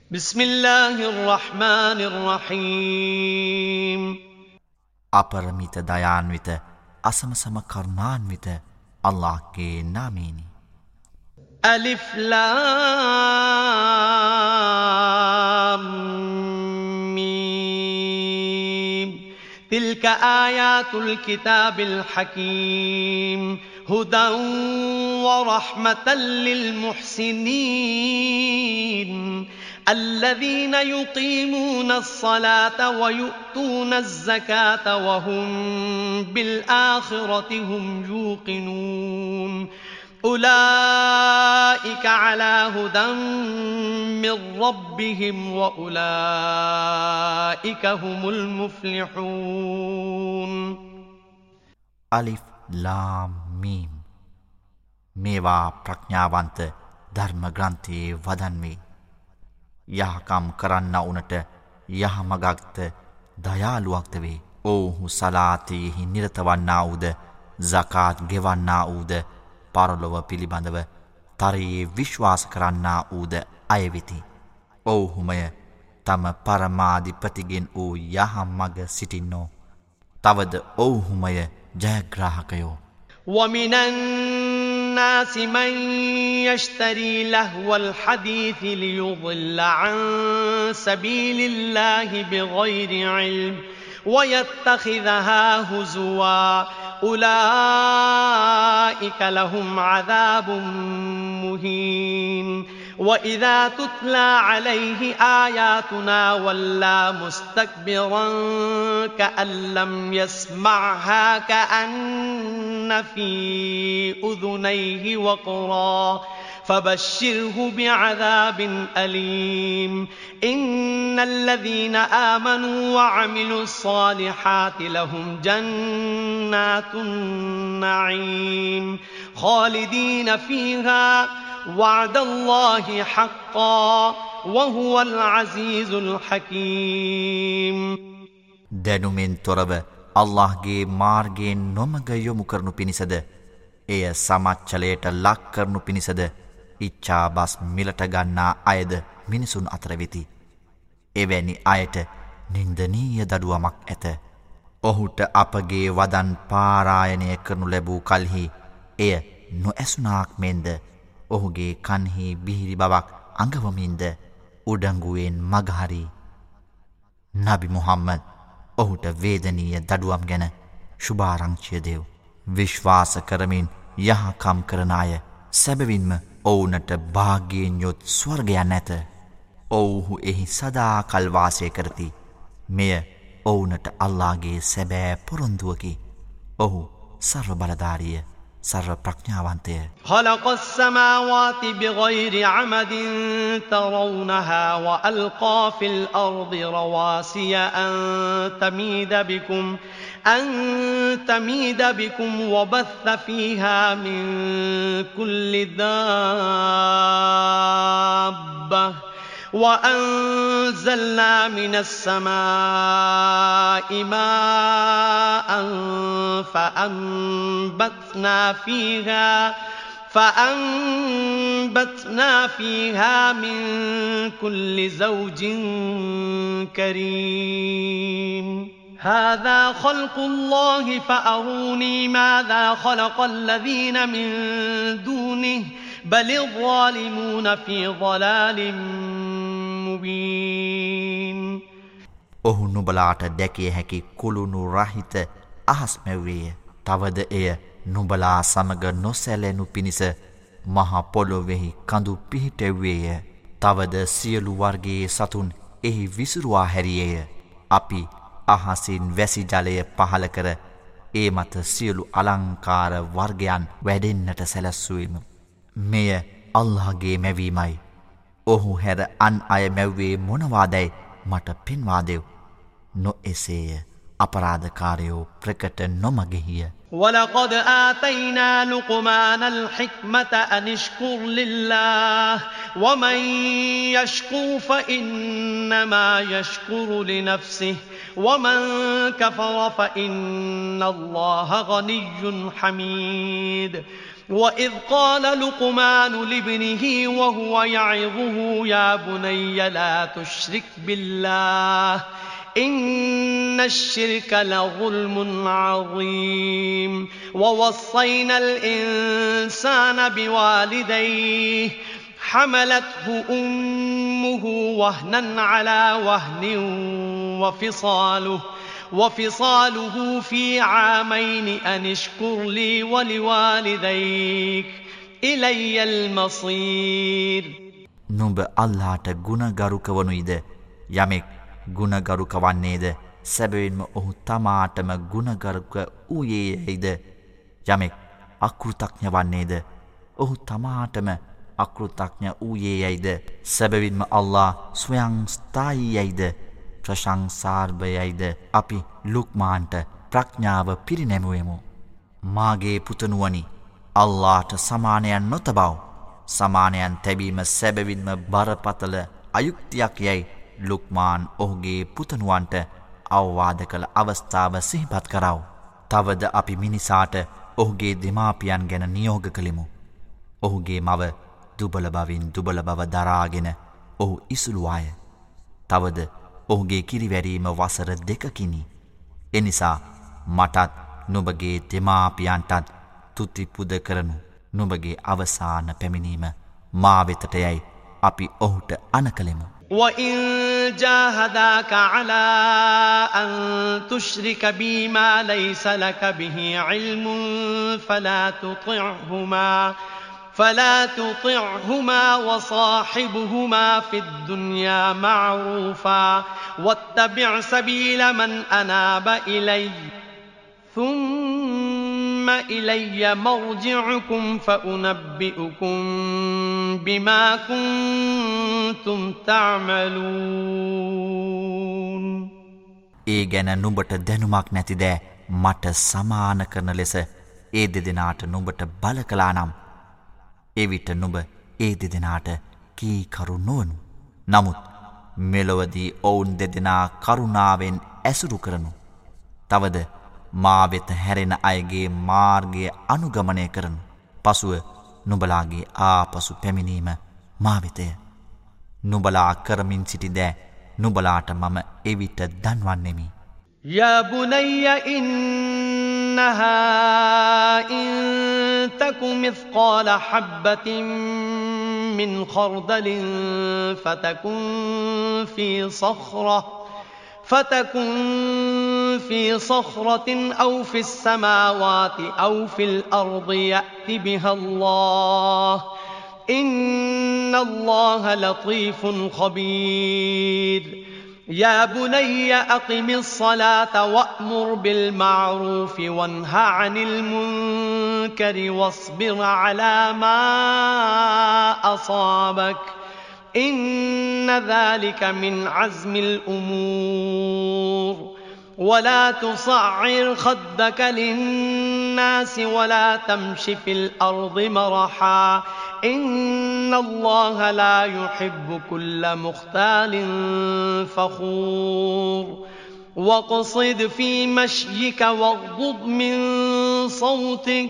بسم الله الرحمن الرحيم අපරමිත දයාන්විත අසමසම කරුණාන්විත අල්ලාහ්ගේ නාමයෙනි. ألف لام ميم تلك آيات الكتاب الحكيم هدى ورحمة للمحسنين الذين يقيمون الصلاة ويؤتون الزكاة وهم بالآخرة هم يوقنون أولئك على هدى من ربهم وأولئك هم المفلحون අලිෆ් ලාම් මීම් මේවා ප්‍රඥාවන්ත ධර්ම ග්‍රන්ථයේ වදන් වේ. යහකම් කරන්නවුනට යහමගක්ද දයාලුවක්ද වේ. ඔවුහු සලාතයෙහි නිරත වන්නා වූද සකාත් ගෙවන්නා වූද පරලොව පිළිබඳව තරයේ විශ්වාස කරන්නා වූද අය වෙති. ඔවුහුමය තම පරමාධිපතිගෙන් වූ යහමග සිටින්නෝ. තවද ඔවුහුමය ජයග්‍රාහකයෝ. ومن الناس من يشتري لهو الحديث ليضل عن سبيل الله بغير علم ويتخذها هزوا أولئك لهم عذاب مهين وإذا تتلى عليه آياتنا ولى مستكبرا كأن لم يسمعها كأن في أذنيه وقرا فبشره بعذاب أليم إن الذين آمنوا وعملوا الصالحات لهم جنات النعيم خالدين فيها وعد الله حقا وهو العزيز الحكيم දැනුමෙන් තොරව අල්ලාහ්ගේ මාර්ගයෙන් නොමග යොමු කරනු පිණිසද එය සමච්චලයට ලක් කරනු පිණිසද ඉච්ඡාබස් මිලට ගන්නා අයද මිනිසුන් අතර වෙති. එවැනි අයට නින්දනීය දඩුවමක් ඇත. ඔහුට අපගේ වදන් පාරායනය කරනු ලැබූ කල්හි එය නොඇසුනාක් මෙන්ද ඔහුගේ කන්හි බිහිරි බවක් අඟවමින්ද උඩංගුවෙන් මගහරි. නබි මුහම්මද් ඔහුට වේදනීය දඩුවම් ගැන ශුභාරංචිය දෙව්. විශ්වාස කරමින් යහකම් කරන අය සැබවින්ම ඔවුනට භාග්‍යයෙන් යොත් ස්වර්ගයක් නැත. ඔවුහු එහි සදා කල් වාසය කරති. මෙය ඔවුනට අල්ලාහ්ගේ සැබෑ පොරොන්දුවකි. ඔහු සර්ව බලධාරිය සර්ව ප්‍රඥාවන්තය. خلق السماوات بغير عمد ترونها وألقى في الأرض رواسي أن تميد بكم وبث فيها من كل دابة وأنزلنا من السماء ماء فأنبتنا فيها من كل زوج كريم هذا خلق الله فأروني ماذا خلق الذين من دونه بل الظالمون في ضلال مبين ඔහු නුබලාට දැකිය හැකි කුළුණු රහිත අහස් මැව්වේය. තවද එය නුබලා සමග නොසැලෙනු පිණිස මහ පොළොවෙහි කඳු පිහිටෙව්වේය. තවද සියලු වර්ගයේ සතුන් එහි විසිරුවා හැරියේය. අපි අහසින් වැසි ජලය පහල කර ඒ මත සියලු අලංකාර වර්ගයන් වැඩෙන්නට සැලැස්සුවෙමු. මෙය අල්ලාහ්ගේ මැවීමයි. ඔහු හැර අන් අය මැව්වේ මොනවාදැයි මට පෙන්වා දෙව්. නොඑසේය අපරාධකාරයෝ ප්‍රකට නොමගෙහිය. ولقد آتينا لقمان الحكمة أن اشكر لله ومن يشكر فإنما يشكر لنفسه ومن كفر فإن الله غني حميد وإذ قال لقمان لابنه وهو يعظه يا بني لا تشرك بالله إن الشرك لظلم عظيم ووصينا الإنسان بوالديه حملته أمه وهنا على وهن وفصاله في عامين أن اشكر لي ولوالديك إلي المصير නුඹ අල්ලාහට ගුණගරුක වනුයිද යමෙක් ගුණගරුක වන්නේද සැබවින්ම ඔහු තමාටම ගුණගරුක වූයේයයිද යමෙක් අකෘතඥ වන්නේද ඔහු තමාටම අකෘතඥ වූයේයයිද සැබවින්ම අල්ලාහ් ස්වයං ස්ථායීයයිද ප්‍රශංසාර්භයයිද අපි ලුක්මාන්ට ප්‍රඥාව පිරිනැමුවෙමු මාගේ පුතණුවනි අල්ලාහට සමානයන් නොතබව සමානයන් තැබීම සැබවින්ම බරපතල අයුක්තියක් යයි ලුක්මාන් ඔහුගේ පුතණුවන්ට අවවාද කළ අවස්ථාව සිහිපත් කරව. තවද අපි මිනිසාට ඔහුගේ දෙමාපියන් ගැන නියෝග කළෙමු. ඔහුගේ මව දුබල බවින් දුබල බව දරාගෙන ඔහු ඉසුළුවාය. තවද ඔහුගේ කිරිවැරීම වසර 2කිනි. එනිසා මටත් නුඹගේ දෙමාපියන්ටත් තුති පුද කරනු. නුඹගේ අවසාන පැමිණීම මා වෙතට යයි අපි ඔහුට අනකලෙමු. وَإِن جَاهَدَاكَ عَلَىٰ أَن تُشْرِكَ بِي مَا لَيْسَ لَكَ بِهِ عِلْمٌ فَلَا تُطِعْهُمَا وَصَاحِبْهُمَا فِي الدُّنْيَا مَعْرُوفًا وَاتَّبِعْ سَبِيلَ مَنْ أَنَابَ إِلَيَّ ثُمَّ إِلَيَّ مَرْجِعُكُمْ فَأُنَبِّئُكُم بِمَا كُنتُمْ تَعْمَلُونَ ඒ ගැන නුඹට දැනුමක් නැතිද මට සමාන කරන ලෙස ඒ දෙදෙනාට නුඹට බල කළා නම් එවිට නුඹ ඒ දෙදෙනාට කීකරු නොවනු. නමුත් මෙලොවදී ඔවුන් දෙදෙනා කරුණාවෙන් ඇසුරු කරනු. තවද මා වෙත හැරෙන අයගේ මාර්ගය අනුගමනය කරනු. පසුව නුඹලාගේ ආපසු පැමිණීම මා වෙතය. නුඹලා කරමින් සිටි දෑ නුඹලාට මම එවිට දන්වන්නෙමි. يا بني إنها إن تك مثقال حبة من خردل فتكن في صخرة أو في السماوات أو في الأرض يأت بها الله إن الله لطيف خبير يا بني أقم الصلاة وأمر بالمعروف وانه عن المنكر واصبر على ما أصابك إن ذلك من عزم الأمور ولا تصعر خدك للناس ولا تمش في الأرض مرحا إن الله لا يحب كل مختال فخور واقصد في مشيك واغضض من صوتك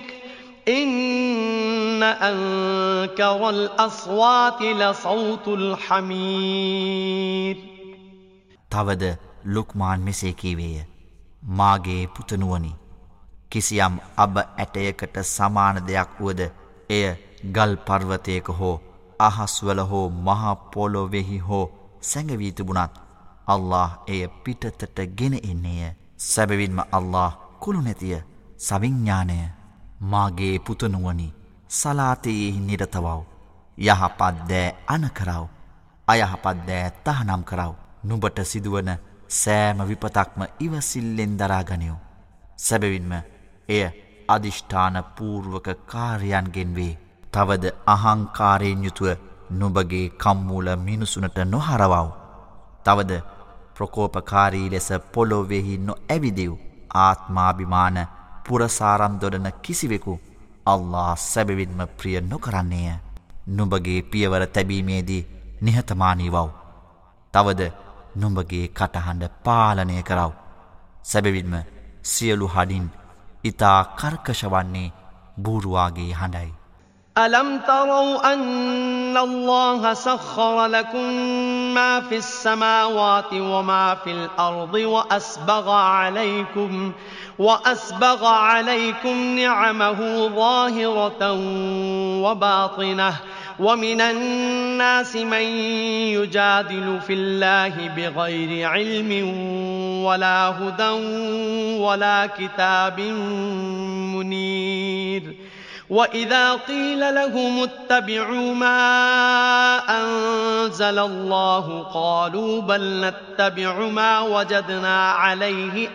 إن أنكر الأصوات لصوت الحمير තවද ලුක්මාන් මෙසේ කීවේය. මාගේ පුතණුවනි කිසියම් අබ ඇටයකට සමාන දෙයක් වුවද එය ගල් පර්වතයක හෝ අහස්වල හෝ මහ පොළොවේහි හෝ සැඟවී තිබුණත් අල්ලාහ් එය පිටතට ගෙන එන්නේය. සැබවින්ම අල්ලාහ් කුළු නැතිය සවිඥානය. මාගේ පුතණුවනි සලාතයේ නිරතවව්. යහපත් දෑ අනකරව. අයහපත් දෑ තහනම් කරව. නුඹට සිදුවන සෑම විපතක්ම ඉවසිල්ලෙන් දරාගනිව්. සැබවින්ම එය අදිෂ්ඨාන පූර්වක කාර්යයන්ගෙන් වේ. තවද අහංකාරයෙන් යුතුව නුඹගේ කම්මූල මිනිසුනට නොහරවව්. තවද ප්‍රකෝපකාරී ලෙස පොළොවේහි නොඇවිදිව්. ආත්මාභිමාන පුරසාරම් දොඩන කිසිවෙකු අල්ලාහ් සැබවින්ම ප්‍රිය නොකරන්නේය. නුඹගේ පියවර තැබීමේදී නිහතමානී වව්. තවද නුඹගේ කටහඬ පාලනය කරව. සැබවින්ම සියලු හඩින් ඉතා කර්කශ වන්නේ බූරුවාගේ හඬයි. ألم تروا أن الله سخر لكم ما في السماوات وما في الأرض وأسبغ عليكم نعمه ظاهرة وباطنة ومن الناس من يجادل في الله بغير علم ولا هدى ولا كتاب منير وإذا قيل لهم اتبعوا ما أنزل الله قالوا بل نتبع ما وجدنا عليه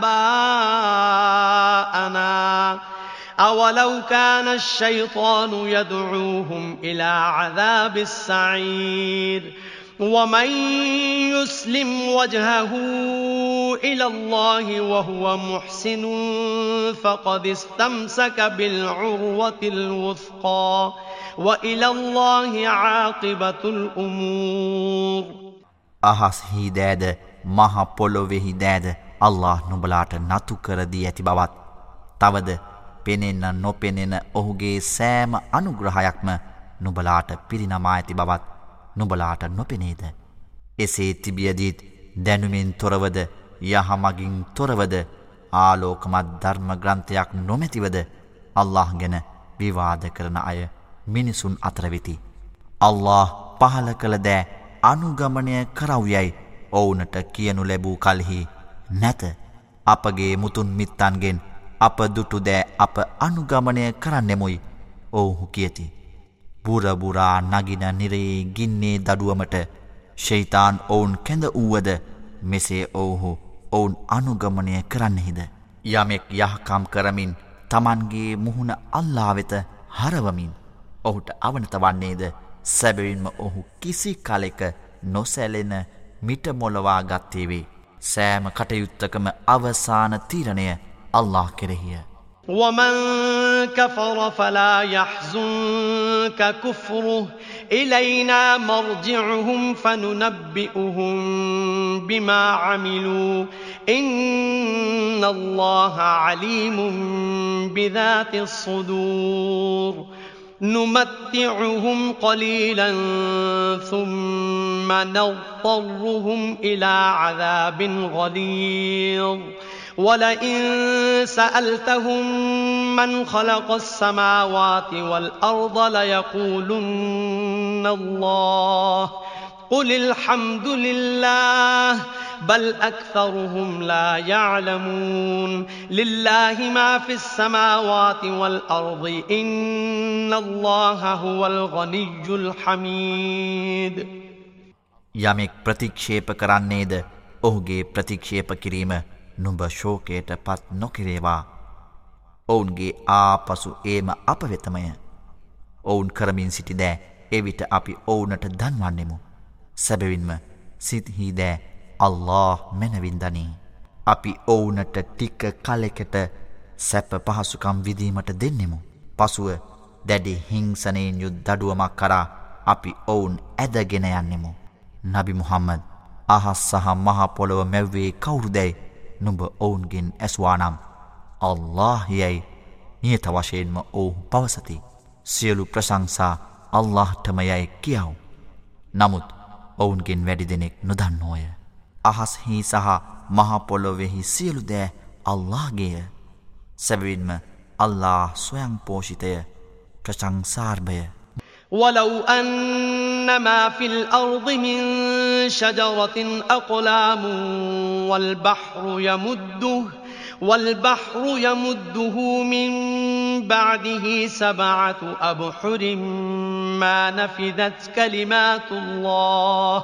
آباءنا أولو كان الشيطان يدعوهم إلى عذاب السعير ومن يسلم وجهه إلى الله وهو محسن فقد استمسك بالعروة الوثقى وإلى الله عاقبة الأمور. අහස්හි දෑද මහ පොළොවෙහි දෑද අල්ලාහ් නුඹලාට නතු කර දී ඇති බවත් තවද පෙනෙන නොපෙනෙන ඔහුගේ සෑම අනුග්‍රහයක්ම නුඹලාට පිරිනමා ඇති බවත් නුඹලාට නොපෙනේද? එසේ තිබියදීත් දැනුමින් තොරවද යහමගින් තොරවද ආලෝකමත් ධර්ම ග්‍රන්ථයක් නොමැතිවද අල්ලාහ් ගැන විවාද කරන අය මිනිසුන් අතර වෙති. අල්ලාහ් පහල කළ දෑ අනුගමනය කරවුයයි ඔවුනට කියනු ලැබූ කලෙහි නැත. අපගේ මුතුන් මිත්තන්ගෙන් අප දුටු දෑ අප අනුගමනය කරන්නෙමුයි ඔවුහු කියති. බුරබුරා නගින නිරේ ගින්නේ දඩුවමට ෂයිතාන් ඔවුන් කැඳ වූවද මෙසේ ඔවුහු ඔවුන් අනුගමනය කරන්නෙහිද? යමෙක් යහකම් කරමින් තමන්ගේ මුහුණ අල්ලා වෙත හරවමින් ඔහුට අවනත වන්නේද සැබවින්ම ඔහු කිසි කලෙක නොසැලෙන මිටමොලවා ගත්තේ වේ. සෑම කටයුත්තකම අවසාන තීරණය අල්ලාහ් කෙරෙහිය. ومن كفر فلا يحزنك كفره إلينا مرجعهم فننبئهم بما عملوا إن الله عليم بذات الصدور نمتعهم قليلا ثم نضطرهم إلى عذاب غليظ ولئن سألتهم من خلق السماوات والأرض ليقولن الله قل الحمد لله بل أكثرهم لا يعلمون لله ما في السماوات والأرض إن الله هو الغني الحميد. යමෙක් ප්‍රතික්ෂේප කරන්නේද ඔහුගේ ප්‍රතික්ෂේප කිරීම නුඹ ශෝකයට පත් නොකිරේවා. ඔවුන්ගේ ආපසු ඒම අප වෙතමය. ඔවුන් කරමින් සිටි දෑ එවිට අපි ඔවුනට දන්වන්නෙමු. සැබවින්ම සිත්හි දෑ අල්ලාහ් මැනවින් දනී. අපි ඔවුනට ටික කලෙකට සැප පහසුකම් විදීමට දෙන්නෙමු. පසුව දැඩි හිංසනයෙන් යුත් දඩුවමක් කරා අපි ඔවුන් ඇදගෙන යන්නෙමු. නබි මුහම්මද් අහස් සහ මහ පොළොව මැව්වේ කවුරුදැයි නුඹ ඔවුන්ගෙන් ඇස්වානම් අල්ලාහ් යයි නියත වශයෙන්ම ඔවුහු පවසති. සියලු ප්‍රශංසා අල්ලාහ්ටම යයි කියව්. නමුත් ඔවුන්ගෙන් වැඩි දෙනෙක් නොදන්නෝය. අහස්හි සහ මහ පොළොවෙහි සියලු දෑ අල්ලාහ්ගේය. සැබවින්ම අල්ලාහ් ස්වයං පෝෂිතය ප්‍රශංසාර්භය. ولو أن ما في الأرض من شجرة أقلام والبحر يمده من بعده 7 أبحر ما نفدت كلمات الله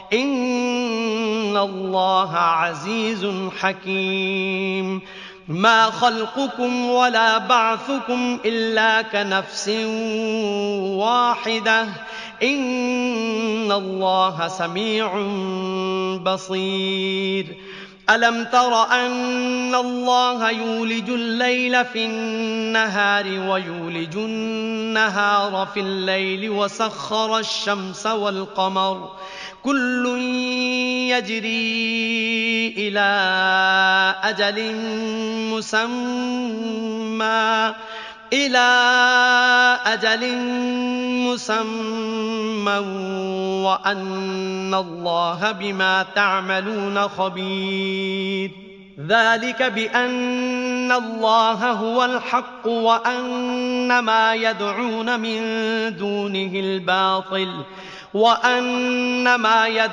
إن الله عزيز حكيم. ما خلقكم ولا بعثكم إلا كنفس واحدة إن الله سميع بصير. ألم تر أن الله يولج الليل في النهار ويولج النهار في الليل وسخر الشمس والقمر كل يجري إلى أجل مسمى إلى أجل مسمى وأن الله بما تعملون خبير ذلك بأن الله هو الحق وأن ما يدعون من دونه الباطل وأن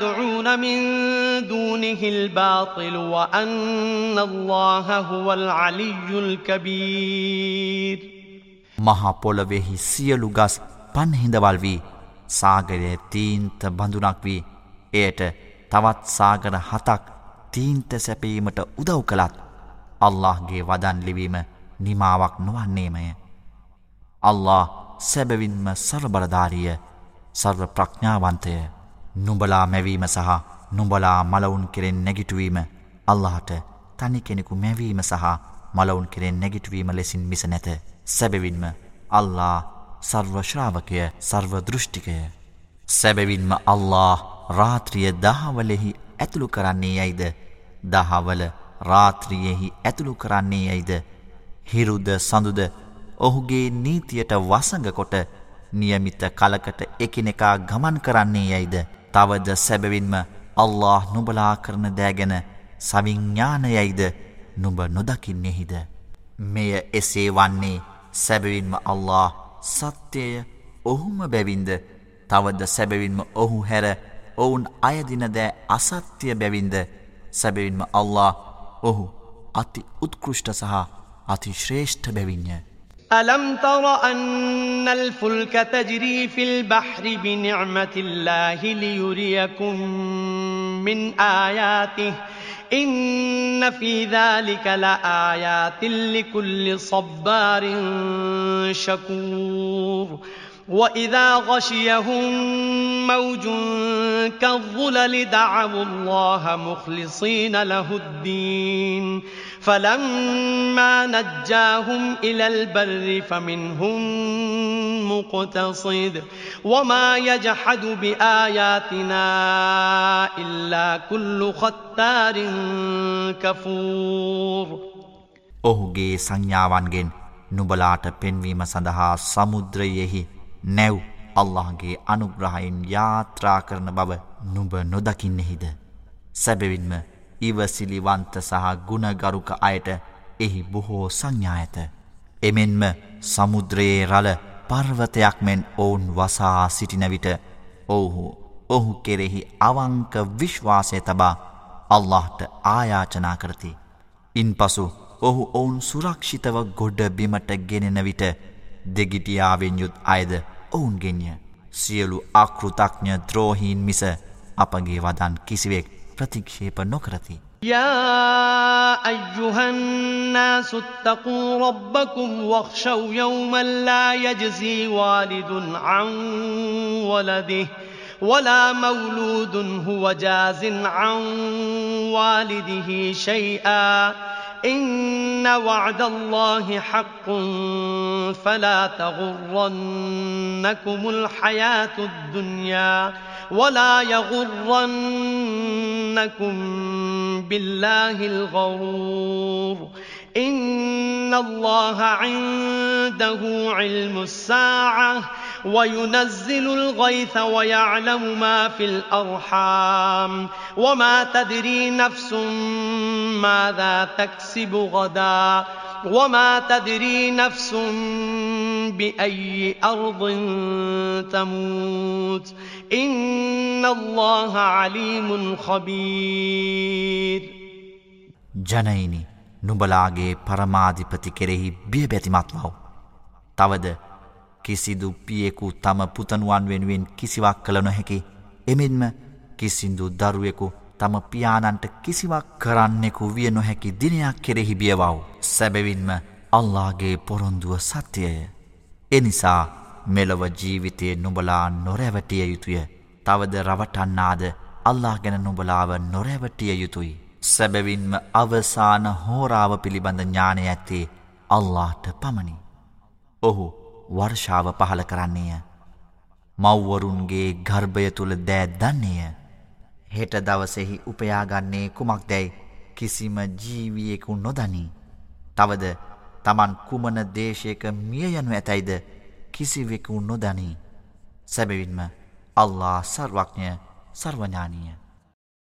الله هو العلي الكبير මහා පොළොවේහි සියලු ගස් පන්හිඳවල් වී සාගරයේ තීන්ත බඳුනක් වී එයට තවත් සාගර 7ක් තීන්ත සැපීමට උදව් කළත් අල්ලාහ්ගේ වදන් ලිවීම නිමාවක් නොවන්නේමය. අල්ලාහ් සැබවින්ම සර්වබලධාරිය සර්ව ප්‍රඥාවන්තය. නුඹලා මැවීම සහ නුඹලා මලවුන් කෙරෙන් නැගිටුවීම අල්ලාහට තනි කෙනෙකු මැවීම සහ මලවුන් කෙරෙන් නැගිටුවීම ලෙසින් මිස නැත. සැබවින්ම අල්ලාහ් සර්ව ශ්‍රාවකය සර්ව දෘෂ්ටිකය. සැබවින්ම අල්ලාහ් රාත්‍රිය දහවලෙහි ඇතුළු කරන්නේ යයිද දහවල රාත්‍රියෙහි ඇතුළු කරන්නේ යයිද හිරුද සඳුද ඔහුගේ නීතියට වසඟ කොට නියමිත කලකට එකිනෙකා ගමන් කරන්නේ යයිද තවද සැබවින්ම අල්ලාහ් නුඹලා කරන දෑ ගැන සවිඥානයයිද නුඹ නොදකින්නේහිද. මෙය එසේ වන්නේ සැබවින්ම අල්ලාහ් සත්‍යය ඔහුම බැවින්ද තවද සැබවින්ම ඔහු හැර ඔවුන් අයදින දෑ අසත්‍ය බැවින්ද සැබවින්ම අල්ලාහ් ඔහු අති උත්කෘෂ්ඨ සහ අති ශ්‍රේෂ්ඨ බැවින්ය. ألم تر أن الفلك تجري في البحر بنعمة الله ليريكم من آياته إن في ذلك لآيات لكل صبار شكور وإذا غشيهم موج كالظلل دعوا الله مخلصين له الدين فلما نجاهم إلى البر فمنهم مقتصد وما يجحد بآياتنا إلا كل ختار كفور ඔහුගේ සංඥාවන්ගෙන් නුඹලාට පෙන්වීම සඳහා සමුද්‍රයෙහි නැව් අල්ලාහ්ගේ අනුග්‍රහයෙන් යාත්‍රා කරන බව නුඹ නොදකින්නේහිද. සැබවින්ම ඉවසිලිවන්ත සහ ගුණගරුක අයට එහි බොහෝ සංඥා ඇත. එමෙන්ම සමුද්‍රයේ රළ පර්වතයක් මෙන් ඔවුන් වසා සිටින විට ඔහු කෙරෙහි අවංක විශ්වාසය තබා අල්ලාහ්ට ආයාචනා කරති. ඉන්පසු ඔහු ඔවුන් සුරක්ෂිතව ගොඩ බිමට ගෙනෙන විට දෙගිටියාවෙන් යුත් අයද ඔවුන්ගෙන්ය. සියලු අකෘතඥ ද්‍රෝහීන් මිස අපගේ වදන් කිසිවෙක් ප්‍රතික්ෂේප නොකරති. يا أيها الناس اتقوا ربكم واخشوا يوما لا يجزي والد عن ولده ولا مولود هو جاز عن والده شيئا إن وعد الله حق فلا تغرنكم الحياة الدنيا ولا يغرنكم بالله الغرور إن الله عنده علم الساعة وينزل الغيث ويعلم ما في الأرحام وما تدري نفس ماذا تكسب غدا وما تدري نفس بأي أرض تموت إن الله عليم خبير. ජනයිනි නුඹලාගේ පරමාධිපති කෙරෙහි බියබැතිමත් වව්. තවද කිසිදු පියෙකු තම පුතණුවන් වෙනුවෙන් කිසිවක් කළ නොහැකි. එමෙන්ම කිසිදු දරුවෙකු තම පියාණන්ට කිසිවක් කරන්නෙකු විය නොහැකි දිනයක් කෙරෙහි බියවව්. සැබවින්ම අල්ලාහ්ගේ පොරොන්දුව සත්‍යය. එනිසා මෙලොව ජීවිතයේ නුඹලා නොරැවටිය යුතුය. තවද රවටන්නාද අල්ලාහ් ගැන නුඹලාව නොරැවටිය යුතුයි. සැබවින්ම අවසාන හෝරාව පිළිබඳ ඥානය ඇත්තේ අල්ලාහ්ට පමණි. ඔහු වර්ෂාව පහල කරන්නේය. මව්වරුන්ගේ ගර්භය තුල දෑ දන්නේය. හෙට දවසෙහි උපයාගන්නේ කුමක්දැයි කිසිම ජීවියෙකු නොදනී. තවද තමන් කුමන දේශයක මිය යනු ඇතැයිද කිසිවෙකු නොදනී. සැබවින්ම අල්ලා සර්වඥ සර්වඥානීය.